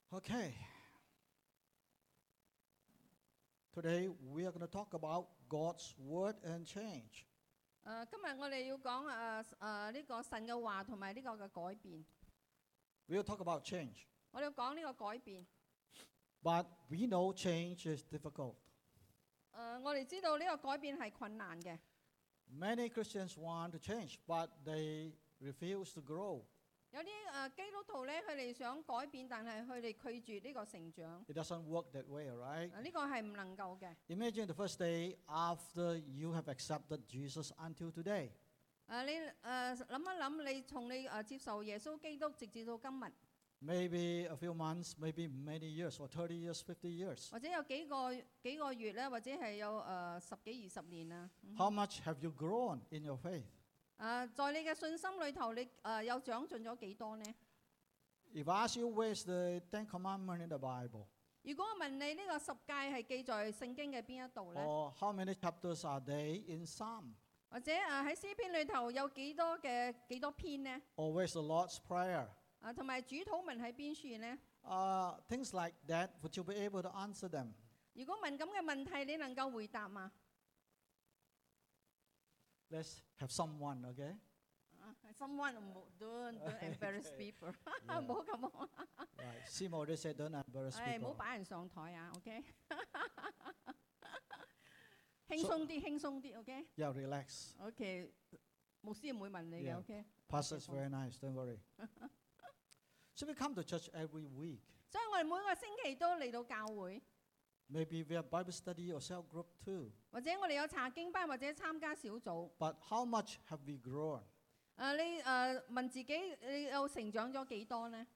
Okay. Today we are going to talk about God's word and change. 今日我哋要講呢個神嘅話同埋呢個嘅改變。 We'll talk about change. 我哋要講呢個改變。 But we know change is difficult. 我哋知道呢個改變係困難嘅。 Many Christians want to change, but they refuse to grow. 有啲基督徒咧，佢哋想改變，但係佢哋拒絕呢個成長。 It doesn't work that way, right? 呢個係唔能夠嘅。 Imagine the first day after you have accepted Jesus until today. 你諗一諗，你從你接受耶穌基督直至到今日， Maybe a few months, maybe many years, or 30 years, 50 years. 或者有幾個月咧，或者係有10幾20年啊。 How much have you grown in your faith? 在你嘅信心裏頭，你有長進咗幾多呢？ If I ask you where's the Ten Commandments in the Bible, 如果我問你呢個10誡係記在聖經嘅邊一度呢？ or how many chapters are they in Psalm, 或者喺詩篇裏頭有幾多篇呢？ or where's the Lord's Prayer? 同埋主禱文喺邊處呢？ Things like that, would you be able to answer them? 如果問咁嘅問題，你能夠回答嗎？ Let's have someone, okay? Someone don't embarrass people， 唔好咁講。 Right. Simo, they said don't embarrass 唔好 people. 擺人上台啊 ，OK？ 輕鬆啲，輕鬆啲 ，OK？ Yeah, relax. OK， 牧師唔會問你嘅 Yeah. ，OK？ Pastor's very nice, don't worry. So we come to church every week. 所以我哋每個星期都嚟到教會， Maybe we have Bible study or cell group too. 或者我哋有查經班，或者參加小組。 But how much have we grown? 你問自己，你有成長咗幾多呢？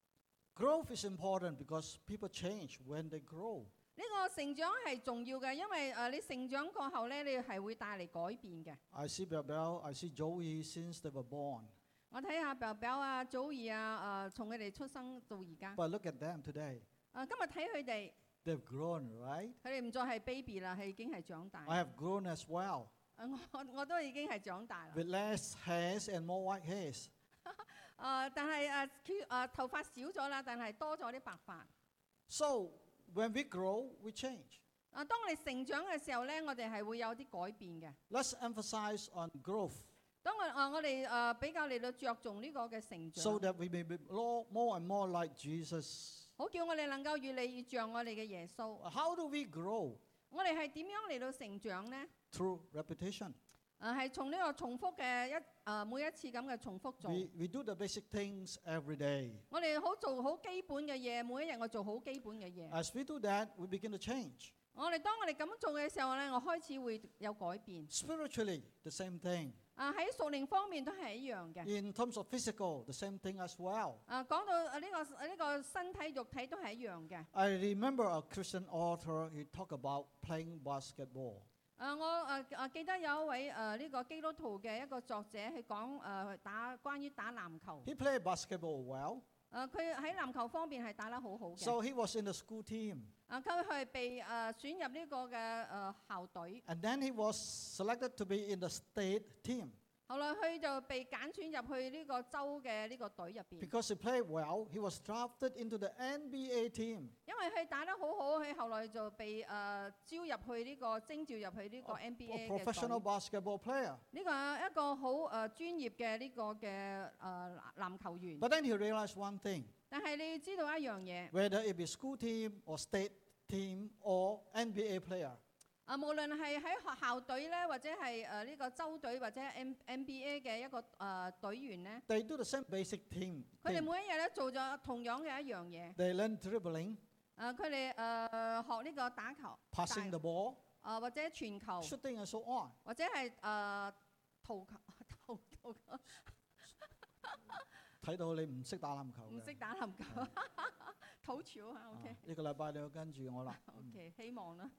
Growth is important because people change when they grow. 呢個成長係重要嘅，因為你成長過後咧，你係會帶嚟改變嘅。 I see Bell, I see Joey since they were born. 我睇下表表啊、祖兒啊，從佢哋出生到而家。 But look at them today. 今日睇佢哋， They've grown, right? 佢哋唔再係 baby 啦，係已經係長大。 I have grown as well. 我都已經係長大啦。 With less hairs and more white hairs. 但係頭髮少咗啦，但係多咗啲白髮。 So when we grow, we change. 當我哋成長嘅時候咧，我哋係會有啲改變嘅。 Let's emphasize on growth 當我哋比較嚟到着重呢個嘅成長， so that we may be more and more like Jesus. 好叫我哋能夠越嚟越像我哋嘅耶穌。 How do we grow? 我哋係點樣嚟到成長呢？ Through repetition. 係從呢個重複嘅每一次咁嘅重複做。 We do the basic things every day. 我哋做好基本嘅嘢，每一日我做好基本嘅嘢。 As we do that, we begin to change. 當我哋咁做嘅時候咧，我開始會有改變。 Spiritually, the same thing. 喺屬靈方面都係一樣嘅。 In terms of physical, the same thing as well. 講到呢個身體肉體都係一樣嘅。 I remember a Christian author, he talked about playing basketball. 我記得有一位呢個基督徒嘅一個作者，佢講關於打籃球。 He played basketball well. 佢喺籃球方面係打得好好嘅。 So he was in the school team. 佢係被選入呢個嘅校隊。 And then he was selected to be in the state team. 後來佢就被揀選入去呢個州嘅呢個隊入邊。 Because he played well, he was drafted into the NBA team. 因為佢打得好好，佢後來就被徵召入去呢個 NBA 嘅 professional 隊。 basketball player. 呢個係一個好專業嘅呢個嘅籃球員。 But then he realized one thing. 但係你要知道一樣嘢， Whether it be school team or state team or NBA player, 無論係喺學校隊咧，或者係呢個州隊或者 NBA 嘅一個隊員咧， they do the same basic thing. 佢哋每一日咧做咗同樣嘅一樣嘢。 They learn dribbling, 佢哋學呢個打球、 passing the ball, 或者傳球， shooting and so on. 或者係投球。 睇到你唔識打籃球嘅。 唔識打籃球，土潮啊 ，OK。 呢個禮拜你要跟住我啦。 OK， 希望啦。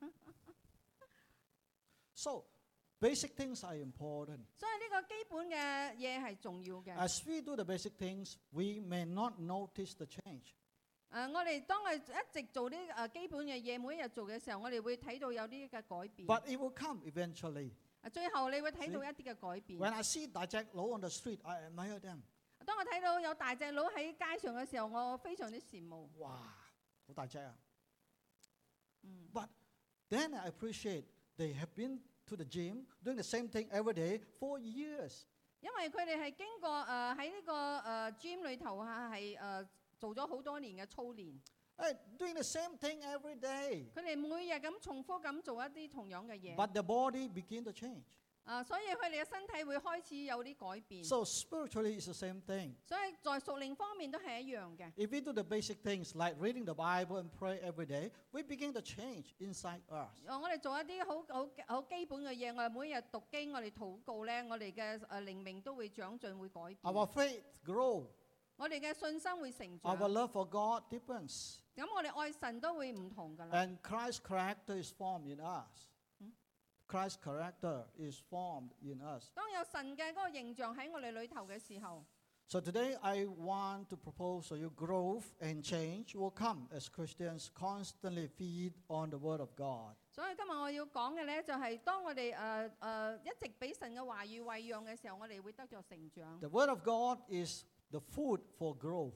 So basic things are important. 所以呢個基本嘅嘢係重要嘅。 As we do the basic things, we may not notice the change. 我哋當我一直做啲基本嘅嘢，每一日做嘅時候，我哋會睇到有啲嘅改變。 But it will come eventually. 最後你會睇到一啲嘅改變。 When I see Dajek Low on the street, I admire them. 當我睇到有大隻佬喺街上嘅時候，我非常之羨慕。 哇，好大隻啊！ 嗯 But then I appreciate they have been to the gym doing the same thing every day for years. 因為佢哋係經過喺呢個gym 裏頭係做咗好多年嘅操練， Doing the same thing every day. 佢哋每日咁重複咁做一啲同樣嘅嘢， But the body begin to change. 所以佢哋嘅身體會開始有啲改變。 So spiritually it's the same thing. 所以在屬靈方面都係一樣嘅。 If we do the basic things like reading the Bible and pray every day, we begin to change inside us. 我哋做一啲好基本嘅嘢，我哋每日讀經，我哋禱告咧，我哋嘅靈命都會長進，會改變。 Our faith grow. 我哋嘅信心會成 Our 長。 love for God deepens. 咁我哋愛神都會唔同㗎啦。 And Christ's character is formed in us. Christ's character is formed in us. 當有神嘅嗰個形象喺我哋裏頭嘅時候， So today I want to propose to you growth and change will come as Christians constantly feed on the Word of God. 所以今日我要講嘅咧，就係當我哋一直俾神嘅話語餵養嘅時候，我哋會得着成長。 The Word of God is the food for growth.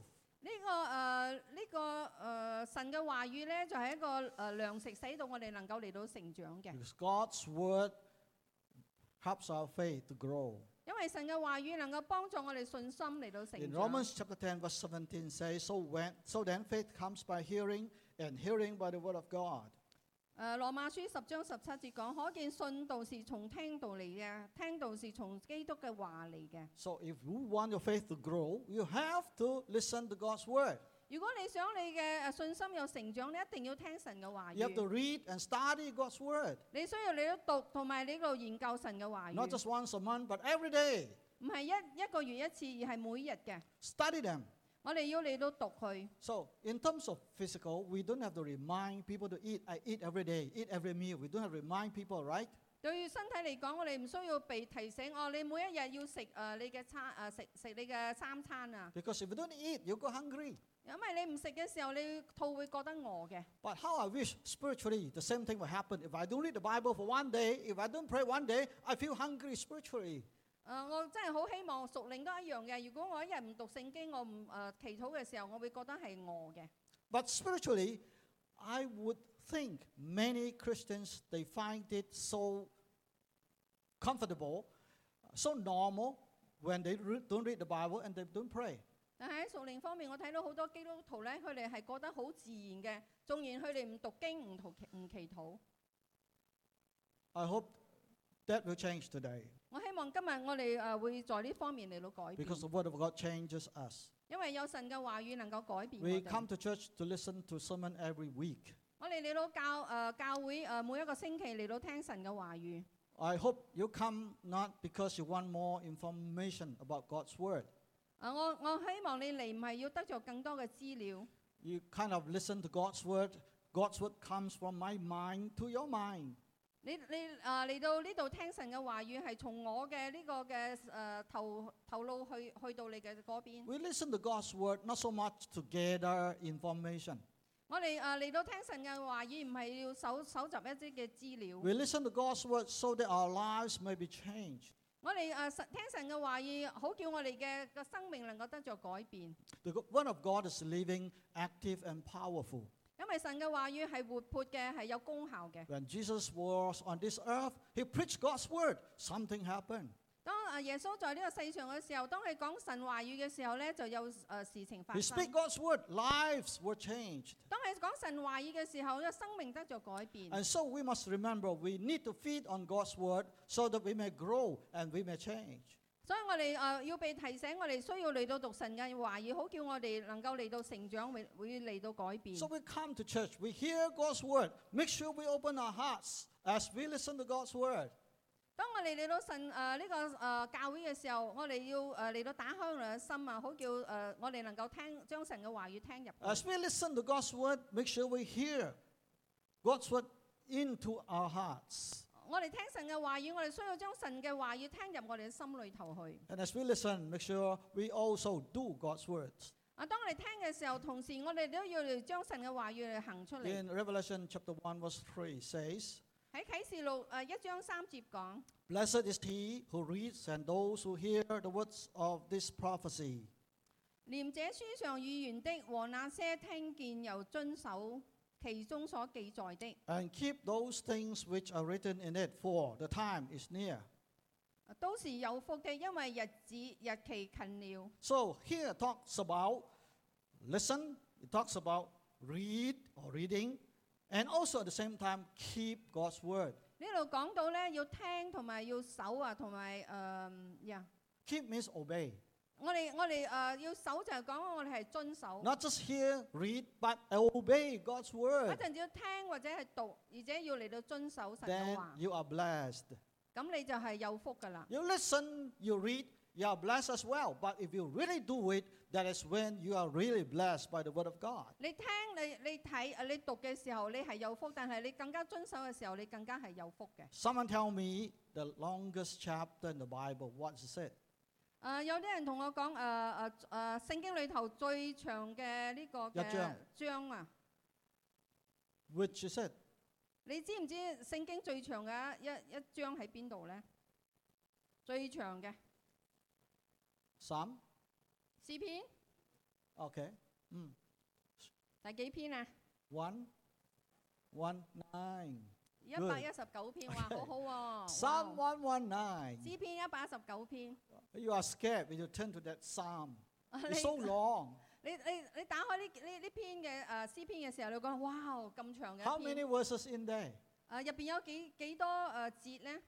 神嘅話語咧，就係一個糧食，使到我哋能夠嚟到成長嘅。 Because God's Word helps our faith to grow. 因為神嘅話語能夠幫助我哋信心嚟到成 In 長。 Romans chapter 10 verse 17 says, So then faith comes by hearing, and hearing by the Word of God. 羅馬書10章17節講，可見信道是從聽道嚟嘅，聽道是從基督嘅話嚟嘅。 So if you want your faith to grow, you have to listen to God's Word. 如果你想你嘅信心有成長，你一定要聽神嘅話 You have to 語。 read and study God's Word. 你需要你都讀，同埋你度研究神嘅話 Not 語， just once a month, but every day. 唔係一個月一次，而係每日嘅。 Study them. 我哋要嚟到讀佢。 So in terms of physical, we don't have to remind people to eat. I eat every day, eat every meal. We don't have to remind people, right? 對於身體嚟講，我哋唔需要被提醒，你每一日要食你嘅食你嘅三餐啊。 Because if you don't eat, you go hungry. 因為你唔食嘅時候，你肚會覺得餓嘅。 But how I wish spiritually the same thing will happen. If I don't read the Bible for one day, if I don't pray one day, I feel hungry spiritually. 我真係好希望屬靈都一樣嘅。如果我一日唔讀聖經，我唔祈禱嘅時候，我會覺得係餓嘅。 But spiritually, I would think many Christians, they find it so comfortable, so normal when they don't read the Bible and they don't pray. 但係喺屬靈方面，我睇到好多基督徒咧，佢哋係覺得好自然嘅，縱然佢哋唔讀經、唔祈禱。 I hope that will change today 我希望今日我哋會在呢方面嚟到改變， because the Word of God changes us. 因為有神嘅話語能夠改變我 We 哋。 come to church to listen to sermon every week. 我哋嚟到教會每一個星期嚟到聽神嘅話語。 I hope you come not because you want more information about God's Word. 我希望你嚟唔係要得着更多嘅資料， You kind of listen to God's Word. God's Word comes from my mind to your mind. 你嚟到呢度聽神嘅話語係從我嘅呢個嘅頭腦去到你嘅嗰邊。 We listen to God's Word not so much to gather information. 我哋嚟到聽神嘅話語，唔係要搜集一啲嘅資料。 We listen to God's Word so that our lives may be changed. 我哋聽神嘅話語，好叫我哋嘅生命能夠得着改變。 The Word of God is living, active, and powerful. 因為神嘅話語係活潑嘅，係有功效嘅。 When Jesus was on this earth, He preached God's Word. Something happened. 當耶穌在呢個世上嘅時候，當佢講神話語嘅時候咧，就有事情發 He 生。 speak God's Word. Lives were changed. 當佢講神話語嘅時候，呢生命得着改變。 And so we must remember we need to feed on God's Word so that we may grow and we may change. 所以我哋要被提醒，我哋需要嚟到讀神嘅話語，好叫我哋能夠嚟到成長，會嚟到改變。 So we come to church, we hear God's Word. Make sure we open our hearts as we listen to God's Word. 當我哋嚟到神呢個教會嘅時候，我哋要嚟到打開我哋嘅心啊，好叫我哋能夠將神嘅話語聽入去。 As we listen to God's Word, make sure we hear God's Word into our hearts. 我哋聽神嘅話語，我哋需要將神嘅話語聽入我哋嘅心裏頭去。 And as we listen, make sure we also do God's words. 當我哋聽嘅時候，同時我哋都要嚟將神嘅話語嚟行出嚟。 In Revelation chapter 1 verse 3 says, 喺啟示錄1章3節講： Blessed is he who reads and those who hear the words of this prophecy 念這書上語言的和那些聽見又遵守其中所記載的， And keep those things which are written in it, for the time is near. 都是有福的，因為日期近了。 So here it talks about listen, it talks about read or reading, and also at the same time keep God's word. 呢度講到咧，要聽同埋要守啊，同埋 Keep means obey. 我哋要守就係講我哋係遵守。 Not just hear, read, but obey God's 一 word. 陣要聽或者係讀，而且要嚟到遵守神嘅 Then 話， you are blessed. 咁你就係有福噶啦。 You listen, you read, you are blessed as well. But if you really do it, that is when you are really blessed by the word of God. 你聽你睇你讀嘅時候，你係有福，但係你更加遵守嘅時候，你更加係有福嘅。 Someone tell me the longest chapter in the Bible. What is it? 有啲人同我講聖經裏頭最長嘅呢個嘅章啊， Which is it? 你知唔知聖經最長嘅一章喺邊度咧？最長嘅 Psalm? 詩篇 Okay. 第幾篇啊？ 119. 119篇，哇，好好喎。 Psalm 哇 119. 詩篇119篇。 You are scared when you turn to that psalm. 你 It's so long. 你打開呢篇嘅詩篇嘅時候，你會講哇咁長嘅 How 一 many 篇。 verses in there? 入邊有幾多節咧？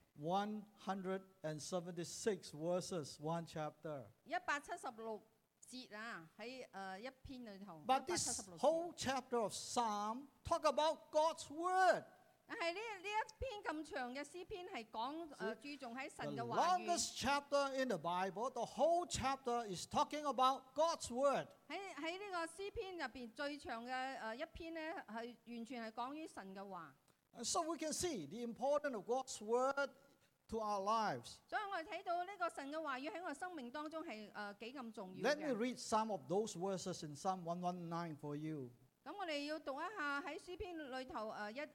176 verses, one chapter. 176節啊，喺一篇裏頭。 But this 176節 whole chapter of Psalm talk about God's word. 但係呢一篇咁長嘅詩篇係講注重喺神 The 嘅話語。 longest chapter in the Bible, the whole chapter is talking about God's word. 喺呢個詩篇入邊最長嘅一篇咧，係完全係講於神嘅話。 And so we can see the importance of God's word to our lives. 所以我哋睇到呢個神嘅話語喺我生命當中係幾咁重要 Let me 嘅。 read some of those verses in Psalm 119 for you. 咁我哋要讀一下喺詩篇裏頭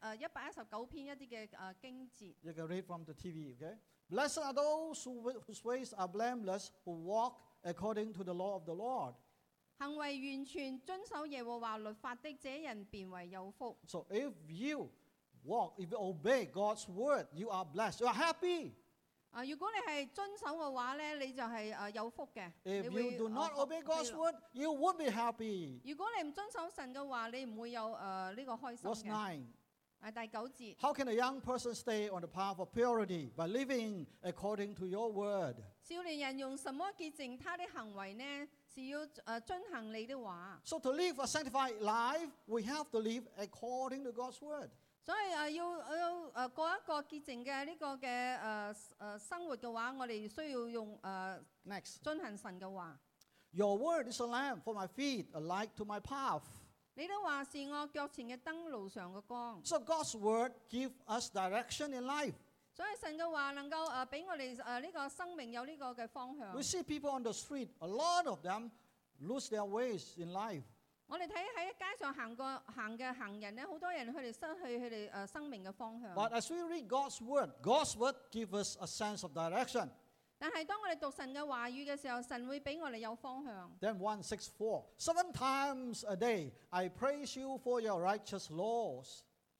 119篇一啲嘅經節。 You can read from the TV, okay? Blessed are those whose ways are blameless, who walk according to the law of the Lord. 行為完全遵守耶和華律法的，這人便為有福。 So if you walk, if you obey God's word, you are blessed. You are happy. 如果你係遵守嘅話咧，你就係有福嘅。 If 你會 you do not obey 快 God's 樂 word, you won't be happy. 如果你唔遵守神嘅話，你唔會有呢個開心 Verse 嘅。 9. 第9節， How can a young person stay on the path of purity? By living according to your word. 少年人用什麼潔淨他的行為呢？是要遵行你的話。 So to live a sanctified life, we have to live according to God's word. 所以要過一個潔淨嘅呢個嘅生活嘅話，我哋需要用 Next. 遵行神嘅話。 Your word is a lamp for my feet, a light to my path. 你的話是我腳前嘅燈，路上嘅光。 So God's word gives us direction in life. 所以神嘅話能夠俾我哋呢個生命有呢個嘅方向。 We see people on the street, a lot of them lose their ways in life. 我哋睇喺街上行嘅行人咧，好多人佢哋失去佢哋生命嘅方向。 But as we read God's word gives us a sense of direction. 但係當我哋讀神嘅話語嘅時候，神會俾我哋有方向。 Then 164, 7 times a day I praise you for your righteous laws.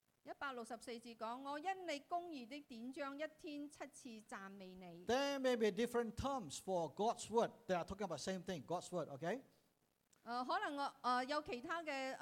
164節講：我因你公義的典章，一天7次讚美你。 There may be different terms for God's word. They are talking about the same thing, God's word, okay? 可能有其他嘅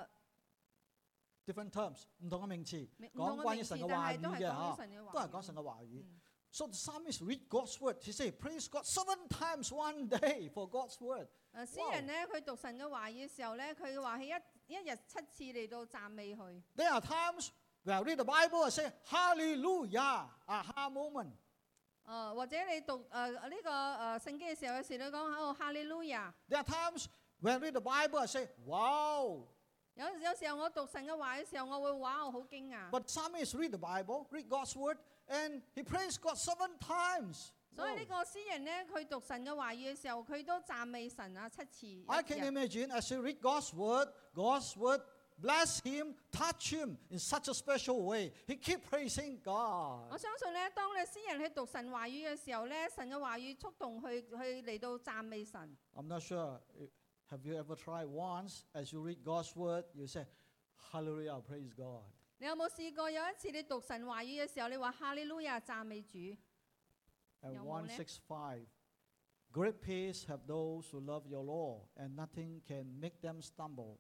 Different terms, 唔同嘅名詞， 唔同嘅講關於神嘅話語嘅嚇，都係講神嘅話語。So the psalmist read God's word. He say, praise God 7 times one day for God's word. 詩人咧，佢讀神嘅話語嘅時候咧，佢話係一日7次嚟到讚美佢。 There are times when I read the Bible and say, Hallelujah, aha moment. 或者你讀呢個聖經嘅時候，有時你講哦哈利路亞。 There are times when I read the Bible and say, wow. 有時候我讀神嘅話嘅時候，我會哇我好驚訝。 But psalmist read the Bible, read God's word, and he praised God 7 times. 所以呢個詩人咧，佢讀神嘅話語嘅時候，佢都讚美神7次。 I can imagine as he read God's word bless him, touch him in such a special way. He keep praising God. 我相信咧，當你詩人去讀神話語嘅時候咧，神嘅話語觸動去嚟到讚美神。 I'm not sure Have you ever tried once as you read God's word, you say, Hallelujah, praise God. 你有冇試過有一次你讀神話語嘅時候，你話哈利路亞讚美主？ And 有冇呢？ 165, great peace have those who love your law, and nothing can make them stumble.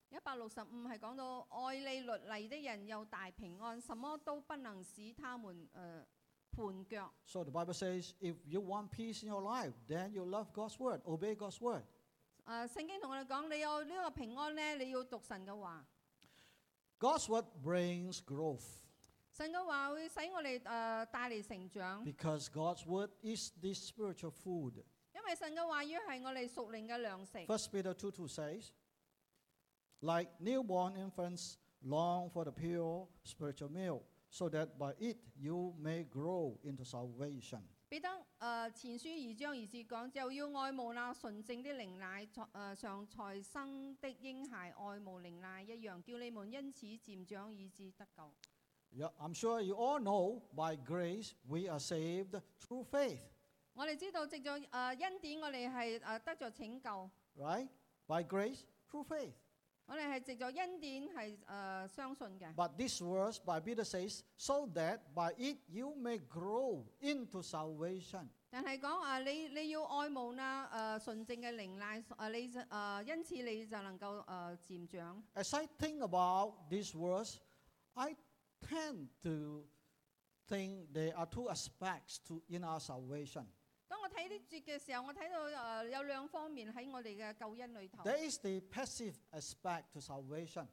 165係講到愛你律例的人有大平安，什麼都不能使他們絆腳。 So the Bible says, if you want peace in your life, then you love God's word, obey God's word. 聖經同我哋講，你有呢個平安呢，你要讀神嘅話。 God's word brings growth 神嘅話會使我哋帶嚟成長， because God's word is the spiritual food. 因為神嘅話語係我哋屬靈嘅糧食。 1 Peter 2:2 says, like newborn infants long for the pure spiritual milk, so that by it you may grow into salvation. 彼得前書2章2節講，就要愛慕那純正的靈奶，常才生的嬰孩愛慕靈奶一樣，叫你們因此漸長以致得救。 Yeah, I'm sure you all know by grace we are saved through faith, 我哋知道藉著恩典，我哋係得着拯救。 right? By grace through faith. 我哋係藉著恩典係相信嘅。 But this verse by Peter says, so that by it you may grow into salvation. 但係講你要愛慕那純正嘅靈奶，因此你就能夠漸長。 As I think about this verse, I tend to think there are two aspects in our salvation. 當我睇呢節嘅時候，我睇到有兩方面喺我哋嘅救恩裏頭。 There is the passive aspect to salvation.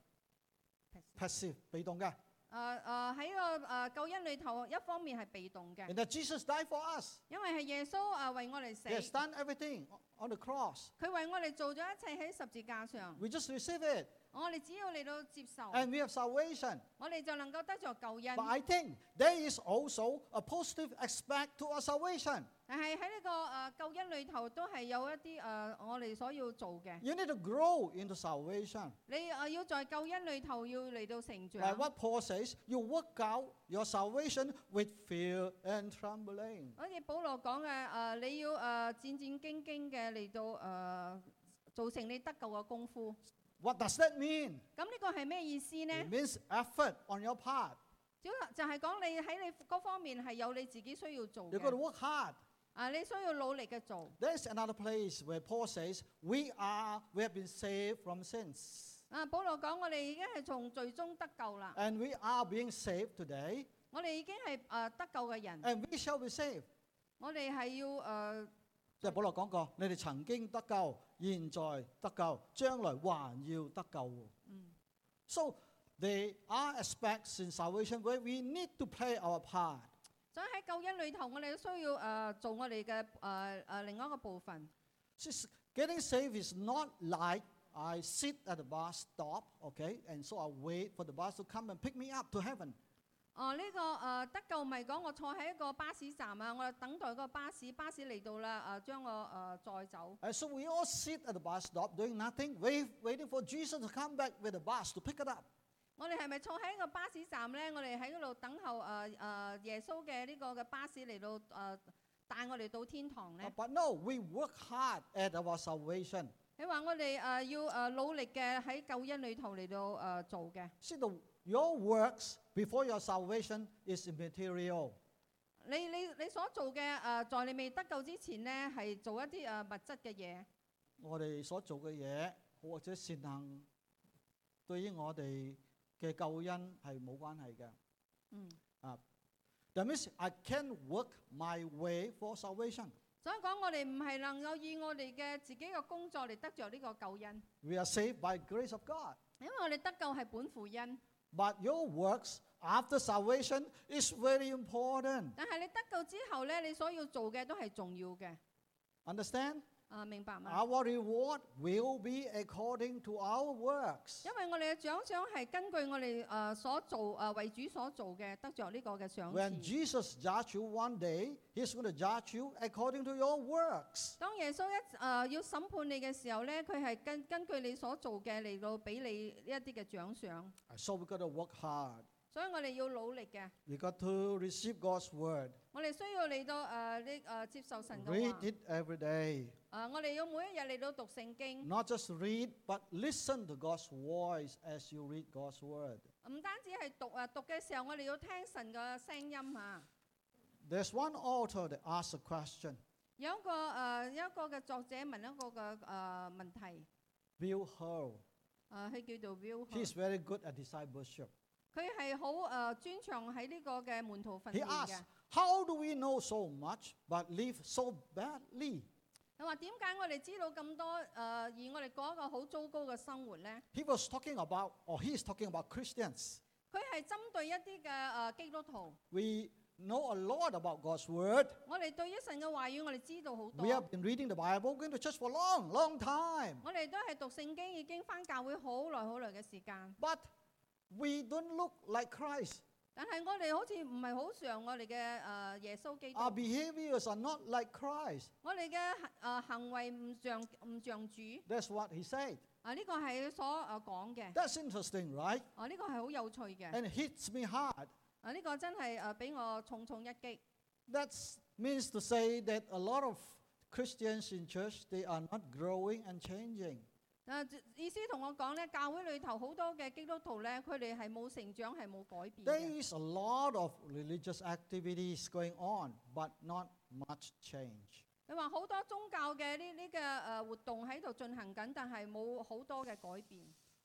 Passive, 被動嘅。 喺個救恩裏頭，一方面係被動嘅， And that Jesus died for us. 因為係耶穌為我哋死 He，has done everything on the cross. 佢為我哋做咗一切喺十字架上。 We just receive it. 我哋只要嚟到接受， And we have salvation. 我哋就能夠得着救恩。 But I think there is also a positive aspect to our salvation. 但係喺呢個救恩裏頭，都係有一啲我哋所要做嘅。 You need to grow into salvation. 你要在救恩裏頭要嚟到成 Like 長。 what Paul says, you work out your salvation with fear and trembling. 好似保羅講嘅你要戰戰兢兢嘅嚟到做成你得救嘅功夫。 What does that mean? 咁呢個係咩意思呢？ It means effort on your part. 就係講你喺你嗰方面係有你自己需要做 You've got to 嘅。 work hard. 你需要努力嘅做。 There's another place where Paul says, we have been saved from sins. 保羅講我哋已經係從罪中得救啦， And we are being saved today. 我哋已經係得救嘅人， And we shall be saved. 我哋係要即係保羅講過，你哋曾經得救，現在得救，將來還要得救。So there are aspects in salvation where we need to play our part. 所以喺救恩裏頭，我哋都需要做我哋嘅另外一個部分。 Getting saved is not like I sit at the bus stop, okay, and so I wait for the bus to come and pick me up to heaven. 呢個得救唔係講我坐喺一個巴士站啊，我等待個巴士嚟到啦，將我載走。 And so we all sit at the bus stop doing nothing, waiting for Jesus to come back with the bus to pick it up. 我哋係咪坐喺一個巴士站咧？我哋喺嗰度等候耶穌嘅呢個嘅巴士嚟到帶我哋到天堂咧？ But no, we work hard at our salvation. 你話我哋要努力嘅喺救恩裏頭嚟到做嘅。 See, your works before your salvation is immaterial. 你所做嘅在你未得救之前咧，係做一啲物質嘅嘢。 我哋所做嘅嘢或者善行，對於我哋嘅救恩係冇關係嘅。That means I can work my way for salvation. 所以講，我哋唔係能夠以我哋嘅自己嘅工作嚟得着呢個救恩， We are saved by grace of God. 因為我哋得救係本乎恩。 But your works after salvation is very important. 但係你得救之後咧，你所要做嘅都係重要嘅。 Understand? 明白嗎？ Our reward will be according to our works. 因為我哋嘅獎賞係根據我哋所做為主所做嘅得着呢個嘅賞 When 賜。 Jesus judge you one day, He's going to judge you according to your works. 當耶穌要審判你嘅時候咧，佢係根據你所做嘅嚟到俾你呢一啲嘅獎賞。 So we got to work hard. 所以我哋要努力嘅。 We got to receive God's word, 我哋需要嚟到接受神嘅 read 話。 it every day. 我哋要每一日嚟到讀聖經， Not just read, but listen to God's voice as you read God's word. 唔單止係讀嘅時候，我哋要聽神嘅聲音嚇。 There's one author that asked a question. 有一個嘅作者問一個嘅問題， Bill Hurl. 佢叫做 Will， He's very good at discipleship. 佢係好專長喺呢個嘅門徒訓 He 練 asked, 嘅。 how do we know so much but live so badly? 佢話點解我哋知道咁多而我哋過一個好糟糕嘅生活咧？ He was talking about, or he is talking about Christians. 佢係針對一啲嘅基督徒。 We know a lot about God's word. 我哋對於神嘅話語，我哋知道好多。 We have been reading the Bible, going to church for a long, long time. 我哋都係讀聖經，已經返教會好耐嘅時間。 But we don't look like Christ. 但係我哋好似唔係好像我哋嘅耶穌基督。 Our behaviors are not like Christ. 我哋嘅行為唔像主。 That's what he said. 呢個係佢所講嘅。 That's interesting, right? 呢個係好有趣嘅。 And it hits me hard. 呢個真係俾我重重一擊。 That means to say that a lot of Christians in church, they are not growing and changing. 意思同我講咧，教會裏頭好多嘅基督徒咧，佢哋係冇成長，係冇改變 There 嘅。 is a lot of religious activities going on, but not much change. 佢話好多宗教嘅呢個活動喺度進行緊，但係冇好多嘅改變。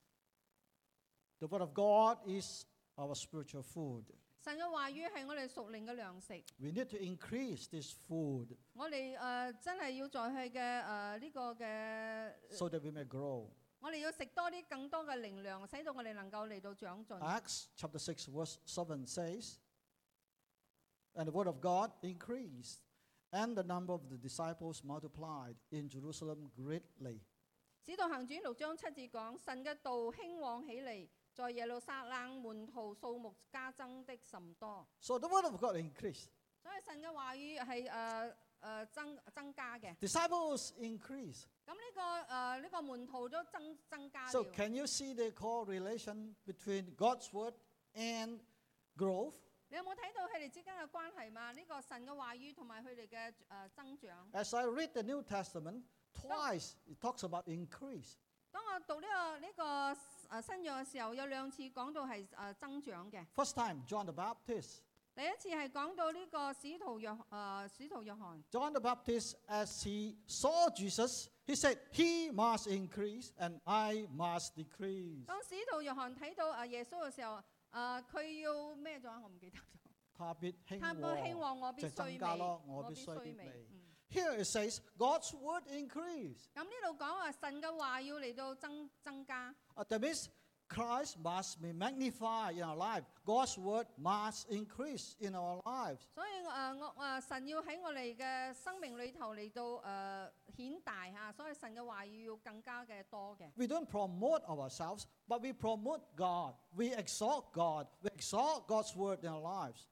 The word of God is our spiritual food. 神嘅話語係我哋屬靈嘅糧食。 We need to increase this food 我哋真係要在佢嘅呢個嘅， so that we may grow. 我哋要食多啲更多嘅靈糧，使到我哋能夠嚟到長進。 Acts chapter 6 verse 7 says, and the word of God increased, and the number of the disciples multiplied in Jerusalem greatly. 使徒行傳6章7節講，神嘅道興旺起嚟，在耶路撒冷門徒數目加增的甚多。 So the word of God increased. 所以神嘅話語係增加嘅。 Disciples increased. 咁呢個門徒都增加 So 了。 can you see the correlation between God's word and growth? 你有冇睇到佢哋之間嘅關係嘛？呢個神嘅話語同埋佢哋嘅增長。 As I read the New Testament, twice it talks about increase. 當我讀呢個新約嘅時候，有2次講到係增長嘅。 First time, John the Baptist. 第一次係講到呢個使徒約翰。 John the Baptist, as he saw Jesus, he said, he must increase and I must decrease. 當使徒約翰睇到耶穌嘅時候，佢要咩咗？我唔記得咗。 他必興他不興旺，我必就增加咯，我必衰衰微。 嗯 Here it says, God's word increase. 咁呢度講話神嘅話要嚟到增加， That means Christ must be magnified in our life. God's word must increase in our lives. 所以神要喺我哋嘅生命裏頭嚟到顯大嚇，所以神嘅話要更加嘅多嘅。 We don't promote ourselves, but we promote God. We exalt God. We exalt God's word in our lives.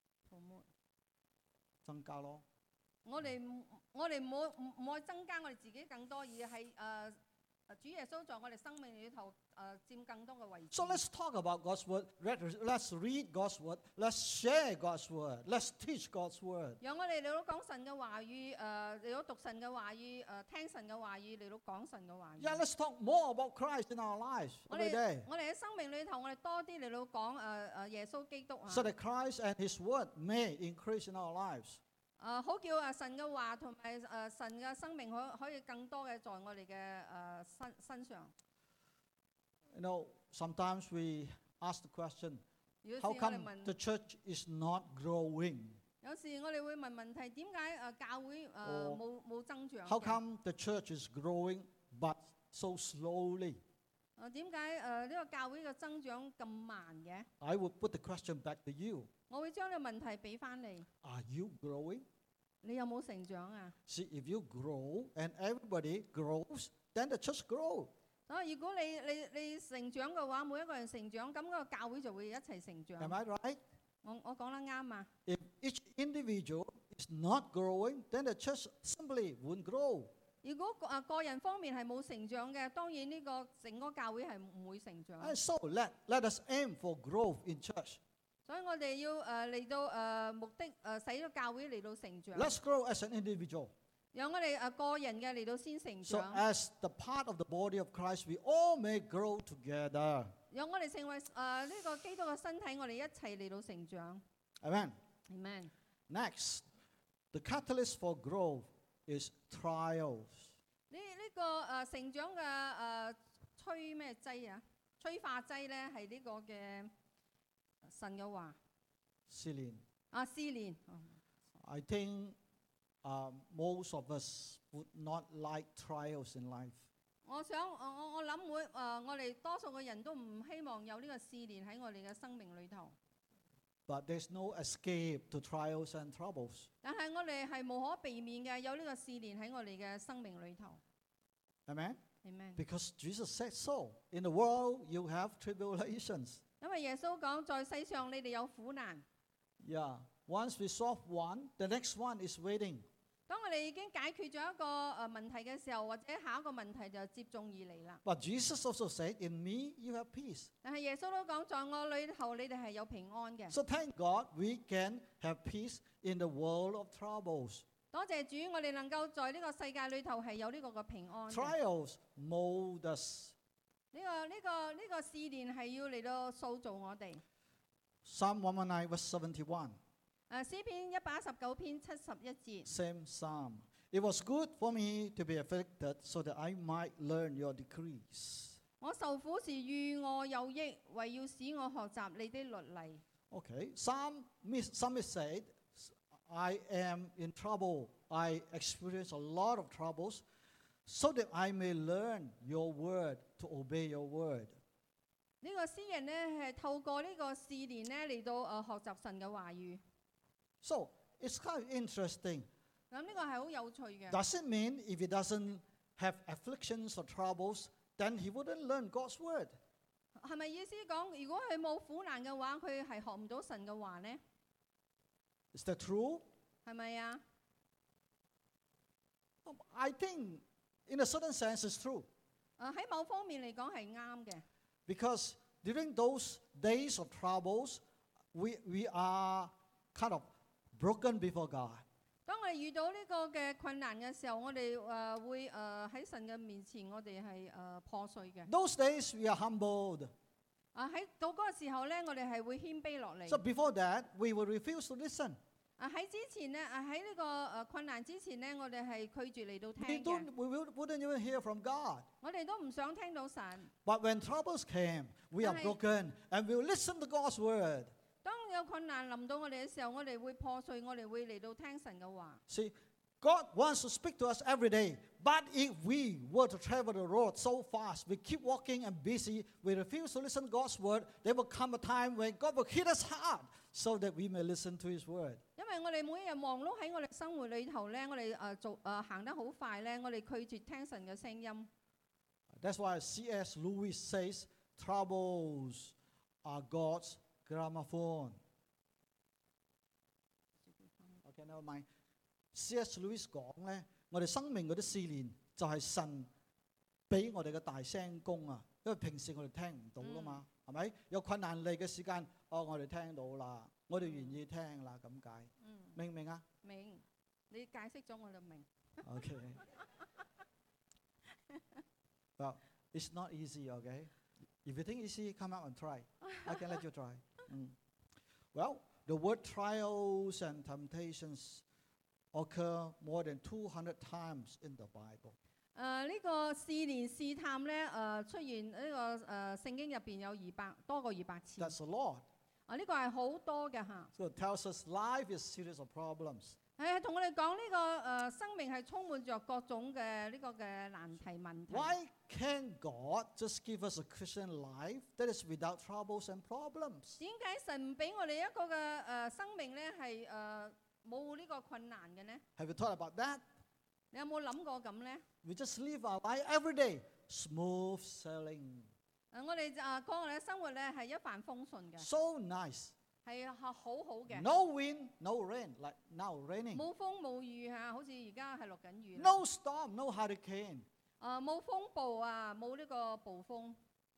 增加咯。 我哋唔可以增加我哋自己更多，而係主耶穌在我哋生命裏頭佔更多嘅位置。 So let's talk about God's word. Let's read God's word. Let's share God's word. Let's teach God's word. 讓我哋嚟到講神嘅話語，嚟到讀神嘅話語，聽神嘅話語，嚟到講神嘅話語。 Yeah, let's talk more about Christ in our lives 我 every 哋 day. 我哋喺生命裏頭，我哋多啲嚟到講耶穌基督啊。 So that Christ and His word may increase in our lives. 好叫神嘅話同埋神嘅生命可以更多嘅在我哋嘅身上。 You know, sometimes we ask the question, 有時 how 我哋 come 問 the church is not growing? 有時我哋會問問題，點解教會冇增長 How 嘅？ come the church is growing but so slowly? 點解呢個教會嘅增長咁慢嘅？ I would put the question back to you. 我會將呢個問題俾翻你， Are you growing? 你有冇成長啊？ See, if you grow and everybody grows, then the church grows. 所以如果你成長嘅話，每一個人成長，咁個教會就會一齊成長。 Am I right? 我講得啱啊！ If each individual is not growing, then the church simply won't grow. 如果個人方面係冇成長嘅，當然呢個整個教會係唔會成長。 And so let us aim for growth in church. 所以我哋要嚟到目的使到教會嚟到成長。 Let's grow as an individual. 讓我哋個人嘅嚟到先成 So 長。 as the part of the body of Christ, we all may grow together. 讓我哋成為呢個基督嘅身體，我哋一齊嚟到成長。 Amen. Amen。 Next, the catalyst for growth is trials. 呢個成長嘅催咩劑啊？催化劑咧係呢個嘅神嘅話。 試煉。 試煉。 I think most of us would not like trials in life. 我諗我哋多數嘅人都唔希望有呢個試煉喺我哋嘅生命裏頭。 But there's no escape to trials and troubles. 但係我哋係無可避免嘅，有呢個試煉喺我哋嘅生命裏頭。 Amen? Amen。 Because Jesus said so. In the world, you have tribulations. 因為耶穌講，在世上你哋有苦難。 Yeah. Once we solve one, the next one is waiting. 當我哋已經解決咗一個問題嘅時候，或者下一個問題就接踵而嚟啦。 But Jesus also said, in me you have peace. 但係耶穌都講，在我裏頭你哋係有平安嘅。 So thank God we can have peace in the world of troubles. 多謝主，我哋能夠在呢個世界裏頭係有呢個嘅平安嘅。 Trials mold us. 呢個試煉係要嚟到塑造我哋。 Psalm 119 verse 71. 詩篇119篇71節。 Same psalm. It was good for me to be afflicted so that I might learn your decrees. 我受苦時與我有益，為要使我學習你的律例。 Okay. Psalmist said, I am in trouble. I experience a lot of troubles so that I may learn your word, to obey your word. 呢個詩人呢係透過呢個試煉呢嚟到學習神嘅話語。 So it's kind of interesting. 咁呢個係好有趣嘅。 Does it mean if he doesn't have afflictions or troubles, then he wouldn't learn God's word? 係咪意思講，如果佢冇苦難嘅話，佢係學唔到神嘅話呢？ Is that true? 係咪啊？ I think in a certain sense it's true. 喺某方面嚟講係啱嘅。 Because during those days of troubles, we are kind of broken before God. 當我哋遇到呢個嘅困難嘅時候，我哋會喺神嘅面前，我哋係破碎嘅。 Those days we are humbled. 喺到嗰個時候咧，我哋係會謙卑落嚟。 So before that, we will refuse to listen. 喺之前咧，喺呢個困難之前咧，我哋係拒絕嚟到 We 聽嘅。 wouldn't even hear from God. 我哋都唔想聽到神。 But when troubles came, we are Right. broken and we will listen to God's word. 當有困難臨到我哋嘅時候，我哋會破碎，我哋會嚟到聽神嘅話。 See, God wants to speak to us every day. But if we were to travel the road so fast, we keep walking and busy, we refuse to listen to God's word, there will come a time when God will hit us hard so that we may listen to his word. 因為我哋每一日忙碌喺我哋生活裏頭咧，我哋行得好快咧，我哋拒絕聽神嘅聲音。 That's why C.S. Lewis says, troubles are God's gramophone. Okay, never mind. C.S. Lewis 講咧，我哋生命嗰啲試煉就係神俾我哋嘅大聲公啊，因為平時我哋聽唔到噶嘛，係咪？有困難嚟嘅時間，我哋聽到啦，我哋願意聽啦，咁解。明唔明啊？ 明，你解釋咗我就明。 Okay. Well, it's not easy, okay? If you think easy, come out and try. I can let you try. Well, the word trials and temptations occur more than 200 times in the Bible. 呢個試煉試探咧，出現呢個聖經入邊有多過200次。 That's a lot. 呢個係好多嘅嚇。 So it tells us life is a series of problems. 係同我哋講呢個生命係充滿着各種嘅呢個嘅難題問題。 Why can't God just give us a Christian life that is without troubles and problems? 點解神唔俾我哋一個嘅生命咧係冇呢個困難嘅呢？ Have you thought about that? 你有冇諗過咁呢？ We just live our life every day, smooth sailing. 我哋過我哋嘅生活咧係一帆風順嘅， So nice. 係好好嘅。 No wind, no rain, like now raining. 冇風冇雨嚇，好似而家係落緊雨啦。 No storm, no hurricane. 冇風暴啊，冇呢個暴風。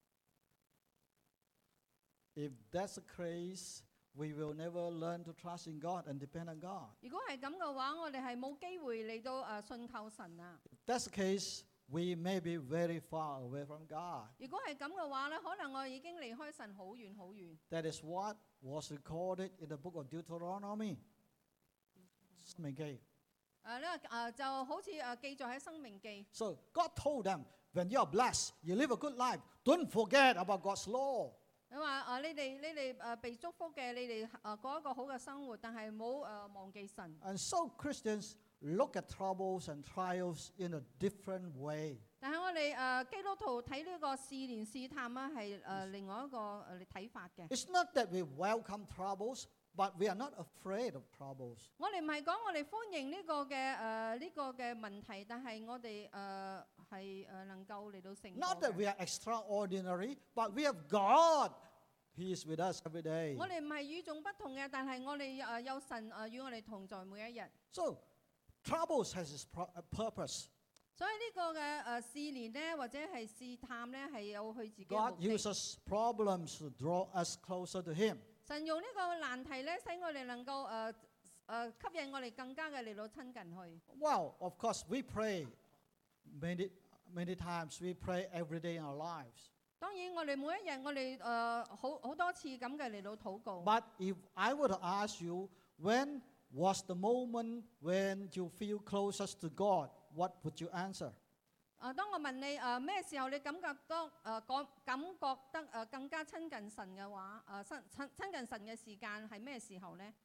If that's the case, we will never learn to trust in God and depend on God. 如果係咁嘅話，我哋係冇機會嚟到信靠神啊。 If that's the case, we may be very far away from God. 如果係咁嘅話咧，可能我已經離開神好遠好遠。 That is what was recorded in the book of Deuteronomy. 申命記。 就好似記載喺《生命記》。 So God told them, when you are blessed, you live a good life, don't forget about God's law. 佢話你哋被祝福嘅，你哋過一個好嘅生活，但係唔好忘記神。 And so Christians look at troubles and trials in a different way. 但係我哋基督徒睇呢個試煉試探啊，係另外一個睇法嘅。 It's not that we welcome troubles, but we are not afraid of troubles. 我哋唔係講我哋歡迎呢個嘅問題，但係我哋係能夠嚟到勝過 Not that 嘅。 we are extraordinary, but we have God. He is with us every day. 我哋唔係與眾不同嘅，但係我哋有神與我哋同在每一日。 So troubles has its purpose. 所以呢個嘅試煉咧，或者係試探咧，係有佢自己嘅 God 目的。 uses problems to draw us closer to Him. 神用呢個難題咧，使我哋能夠吸引我哋更加嘅嚟到親近佢。 Well, of course, we pray many times. We pray every day in our lives. 當然，我哋每一日我哋好多次咁嘅嚟到禱告。 But if I were to ask you, when was the moment when you feel closest to God? What would you answer? 當我問你咩時候你感覺得更加親近神嘅話，親近神嘅時間係咩時候呢？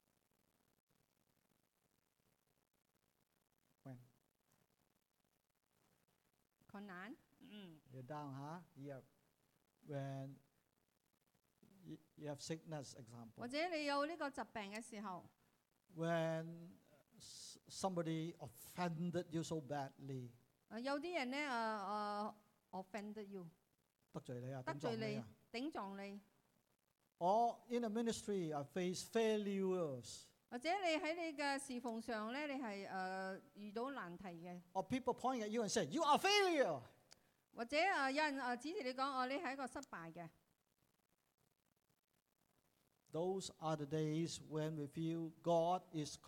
When? 困難。 You're down, huh? Yeah. When you have sickness, example. 或者你有呢個疾病嘅時候， When somebody offended you so badly. 有啲人咧offended you， 得罪你啊， 得罪你頂撞你啊。 頂撞你， Or in a ministry, I face failures. 或者你喺你嘅侍奉上咧，你係遇到難題嘅， Or people point at you and say, you are a failure. 或者有人指住你講，你係一個失敗嘅。 Those are the days when we feel God is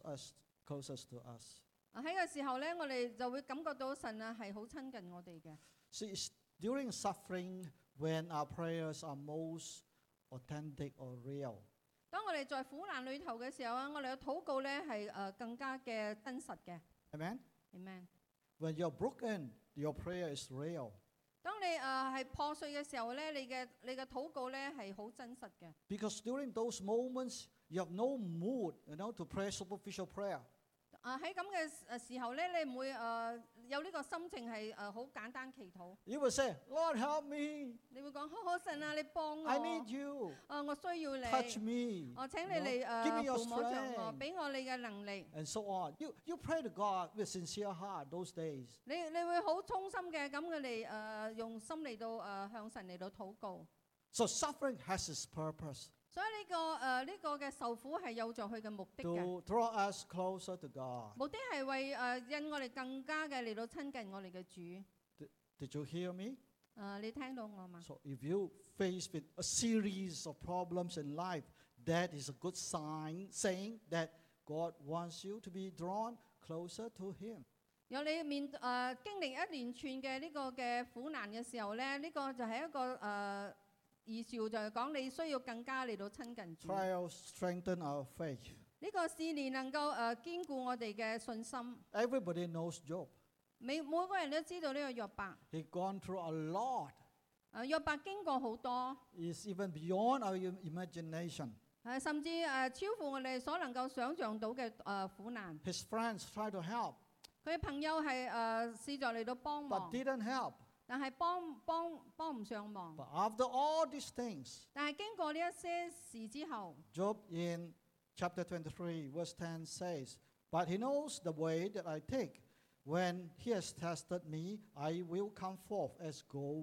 closest to us. 喺個時候咧，我哋就會感覺到神係好親近我哋嘅。 See, it's during suffering when our prayers are most authentic or real. 當我哋在苦難裏頭嘅時候我哋嘅禱告咧係更加嘅真實嘅。 Amen? Amen。 When you're broken, your prayer is real. 當你係破碎嘅時候咧，你嘅禱告咧係好真實嘅。 Because during those moments, you have no mood, to pray superficial prayer. 喺咁嘅時候咧，你唔會有呢個心情係好簡單祈禱。 You will say, Lord, help me. 你會講：好神啊，你幫我。 I need you. 我需要你。 Touch me. 請你嚟 Give me your 撫摸着我， strength. 俾我你嘅能力。 And so on. You pray to God with sincere heart those days. 你會好衷心嘅咁嘅嚟用心嚟到向神嚟到禱告。 So suffering has its purpose 所以呢個嘅受苦係有助佢嘅目的嘅， to draw us closer to God. 目的係為引我哋更加嘅嚟到親近我哋嘅主。 Did you hear me? 你聽到我嘛？ So if you face with a series of problems in life, that is a good sign saying that God wants you to be drawn closer to Him. 有你經歷一連串嘅呢個嘅苦難嘅時候咧，呢個就係一個預兆，就係講你需要更加嚟到親近主。 Trials strengthen our faith. 呢個試煉能夠堅固我哋嘅信心。 Everybody knows Job. 每個人都知道呢個約伯。 He gone through a lot. 約伯經過好多， It's even beyond our imagination. 甚至超乎我哋所能夠想像到嘅苦難。 His friends tried to help, 佢嘅朋友係試著嚟到幫 but 忙， didn't help. 但係幫唔上忙。 But after all these things, 但係經過呢一些事之後， Job in chapter 23, verse 10 says, But he knows the way that I take. When he has tested me, I will come forth as gold.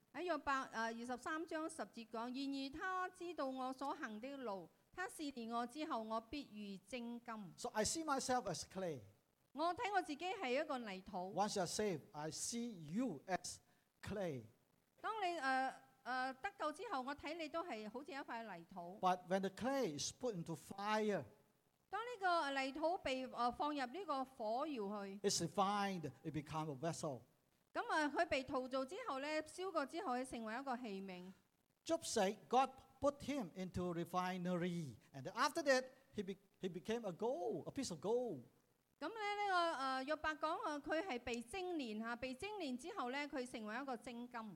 喺約伯23章10節講，然而他知道我所行的路，他試煉我之後，我必如精金。 So I see myself as clay. 我睇我自己係一個泥土。 Once you are saved, I see you as clay. 當你得救之後，我睇你都係好似一塊泥土。 But when the clay is put into fire, 當呢個泥土被放入呢個火窯去， it's refined, it becomes a vessel. 咁佢被陶造之後咧，燒過之後，佢成為一個器皿。 Job said God put him into refinery, and after that he became a gold, a piece of gold. 咁咧呢個約伯講佢係被精煉嚇，被精煉之後咧，佢成為一個精金。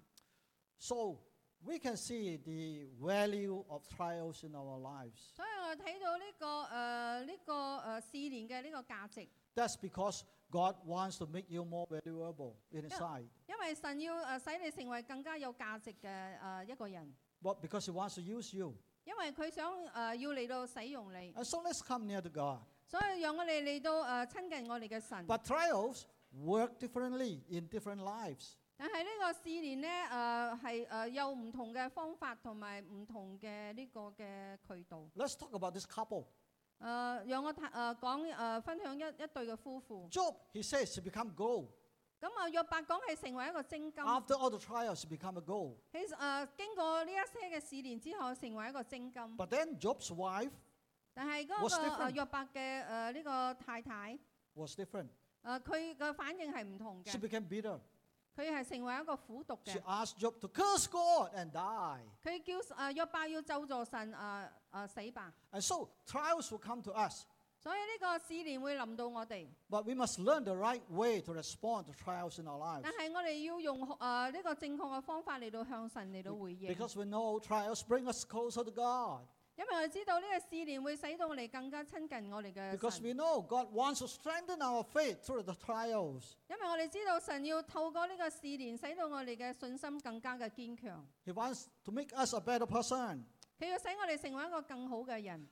So we can see the value of trials in our lives. 所以我睇到呢個試煉嘅呢個價值。 That's because God wants to make you more valuable inside. 因為神要使你成為更加有價值嘅一個人。 But because He wants to use you. 因為佢想要嚟到使用你。 And so let's come near to God. 所以讓我哋嚟到親近我哋嘅神。 But trials work differently in different lives. 但係呢個試煉咧係有唔同嘅方法同埋唔同嘅呢個嘅渠道。 Let's talk about this couple. 讓我分享一對嘅夫婦。 Job, he says, he become gold. 咁約伯講係成為一個精金。 After all the trials, he become a gold. 經過呢一些嘅試煉之後，成為一個精金。 But then Job's wife 但係嗰個約伯嘅呢個太太 was different. 佢嘅反應係唔同嘅。 She became bitter. 佢係成為一個苦毒 She 嘅。 asked Job to curse God and die. 佢叫約伯要咒詛神死吧。 And so trials will come to us. 所以呢個試煉會臨到我哋。 But we must learn the right way to respond to trials in our lives. 但係我哋要用呢個正確嘅方法嚟到向神嚟到回應。 Because we know trials bring us closer to God. 因為我哋知道呢個試煉會使到我哋更加親近我哋嘅 Because 神。 we know God wants to strengthen our faith through the trials. 因為我哋知道神要透過呢個試煉，使到我哋嘅信心更加嘅堅強。 He wants to make us a better person. 佢要使我哋成為一個更好嘅人。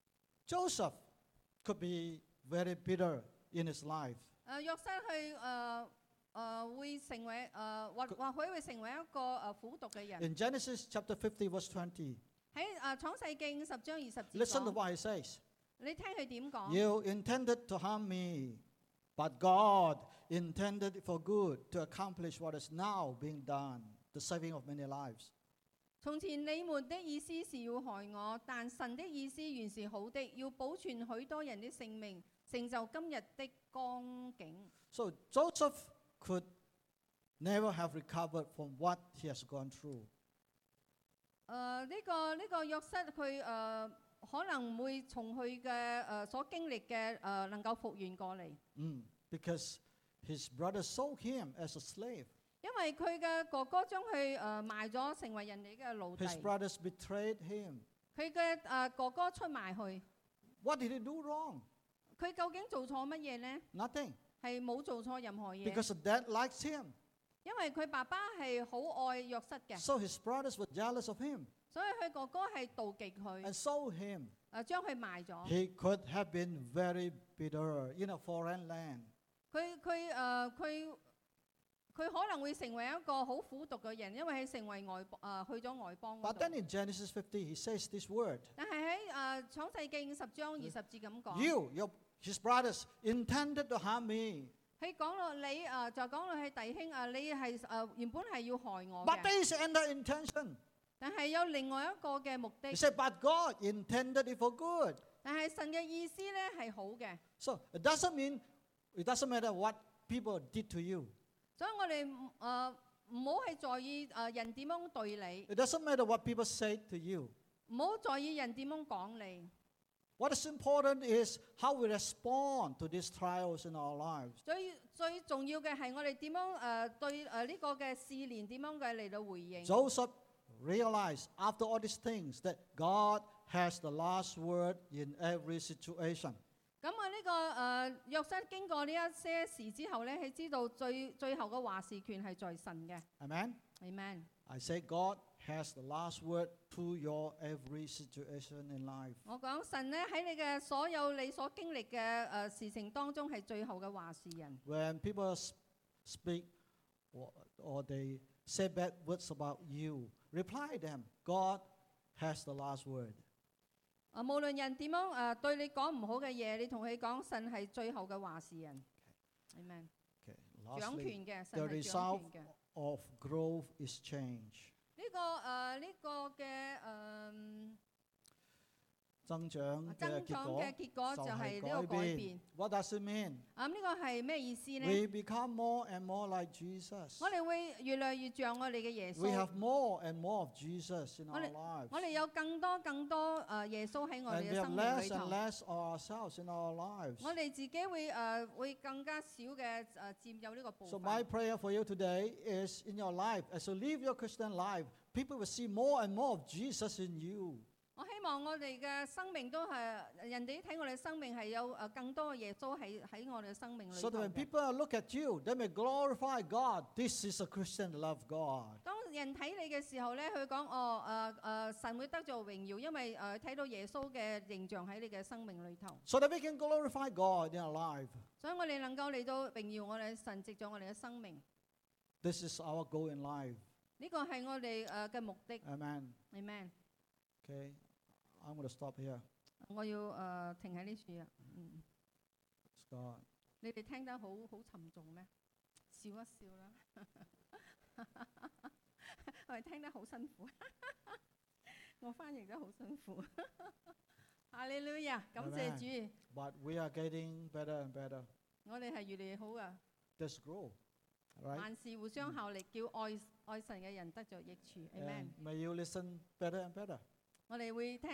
Joseph could be very bitter in his life. 約瑟去會成為或許會成為一個苦毒嘅人。 In Genesis chapter 50 verse 20, 喺創世記50章20節 listen to 講， what he says. 你聽佢點講？ You intended to harm me, but God intended it for good to accomplish what is now being done, the saving of many lives. 從前你們的意思是要害我，但神的意思原是好的，要保存許多人的性命，成就今日的光景。 So Joseph could never have recovered from what he has gone through. 呢個約瑟佢可能唔會從佢嘅所經歷嘅能夠復原過嚟。 Because his brothers sold him as a slave. 因為佢嘅哥哥將佢賣咗成為人哋嘅奴 His 隸， brothers betrayed him. 佢嘅哥哥出賣佢， What did he do wrong? 佢究竟做錯乜嘢呢？ Nothing. 係冇做錯任何嘢， Because the dad likes him. 因為佢爸爸係好愛約瑟嘅， So his brothers were jealous of him 所以佢哥哥係妒忌佢， and sold him. 將佢賣咗。 He could have been very bitter in a foreign land. 佢可能會成為一個好苦毒嘅人，因為佢成為去咗外邦嗰 But then 度。 in Genesis 50, he says this word. 但係喺創世記50章20節咁講， His brothers intended to harm me. 佢講到你就講到係弟兄你係原本係要害我 But 嘅， there is another intention. 但係有另外一個嘅目的 He。said, but God intended it for good. 但係神嘅意思咧係好嘅， So it doesn't matter what people did to you. 所以我哋唔好係在意人點樣對你， It doesn't matter what people say to you. 唔好在意人點樣講你。 What is important is how we respond to these trials in our lives. 最重要嘅係我哋點樣對呢個嘅試煉點樣嘅嚟到回應。 Joseph realized after all these things that God has the last word in every situation. 咁呢個約瑟經過呢一些事之後咧，佢知道最後嘅話事權係在神嘅。 Amen? Amen。 I say God has the last word to your every situation in life. 我講神咧喺你所經歷嘅事情當中係最後嘅話事人。 When people speak or they say bad words about you, reply them. God has the last word. 無論人點樣對你講唔好嘅嘢，你同佢講，神係最後嘅話事人。Amen。 Okay. 掌 Lastly, 權嘅，神 the 係掌 result 權嘅。 of growth is change. 呢個嘅增長嘅增長嘅結果就係呢個改變。 What does it mean? 呢個係咩意思呢？ We become more and more like Jesus. 我哋會越嚟越像我哋嘅耶 We 穌。 have more and more of Jesus in our lives. 我哋有更多耶穌喺我 And 哋 we 嘅 have 生命 less 裏 and 頭。 less of ourselves in our lives. 我哋自己會更加少嘅佔有呢個部 So 分。 my prayer for you today is in your life, as you live your Christian life, people will see more and more of Jesus in you. 我希望我哋嘅生命都係人哋睇我哋生命係有更多嘅耶穌喺我哋嘅生命裏 So 頭 that when 嘅。 people look at you, they may glorify God. This is a Christian that love God. 當人睇你嘅時候咧，佢講神會得做榮耀，因為睇到耶穌嘅形象喺你嘅生命裏頭。 So that we can glorify God in our life. 所以我哋能夠嚟到榮耀我哋神，藉咗我哋嘅生命。 This is our goal in life. 呢個係我哋嘅目的。 Amen. Amen。 Okay, I'm going to stop here. 我要停喺呢處啊。 It's God. 你哋聽得好沉重咩？笑一笑啦。我哋聽得好辛苦，我翻譯得好辛苦。哈利路亞，感謝主。 But we are getting better and better. 我哋係越嚟越好噶。 Let's grow. All right? 萬事互相效力，叫愛神嘅人得着益處。Amen。 And may you listen better and better. 我哋會聽。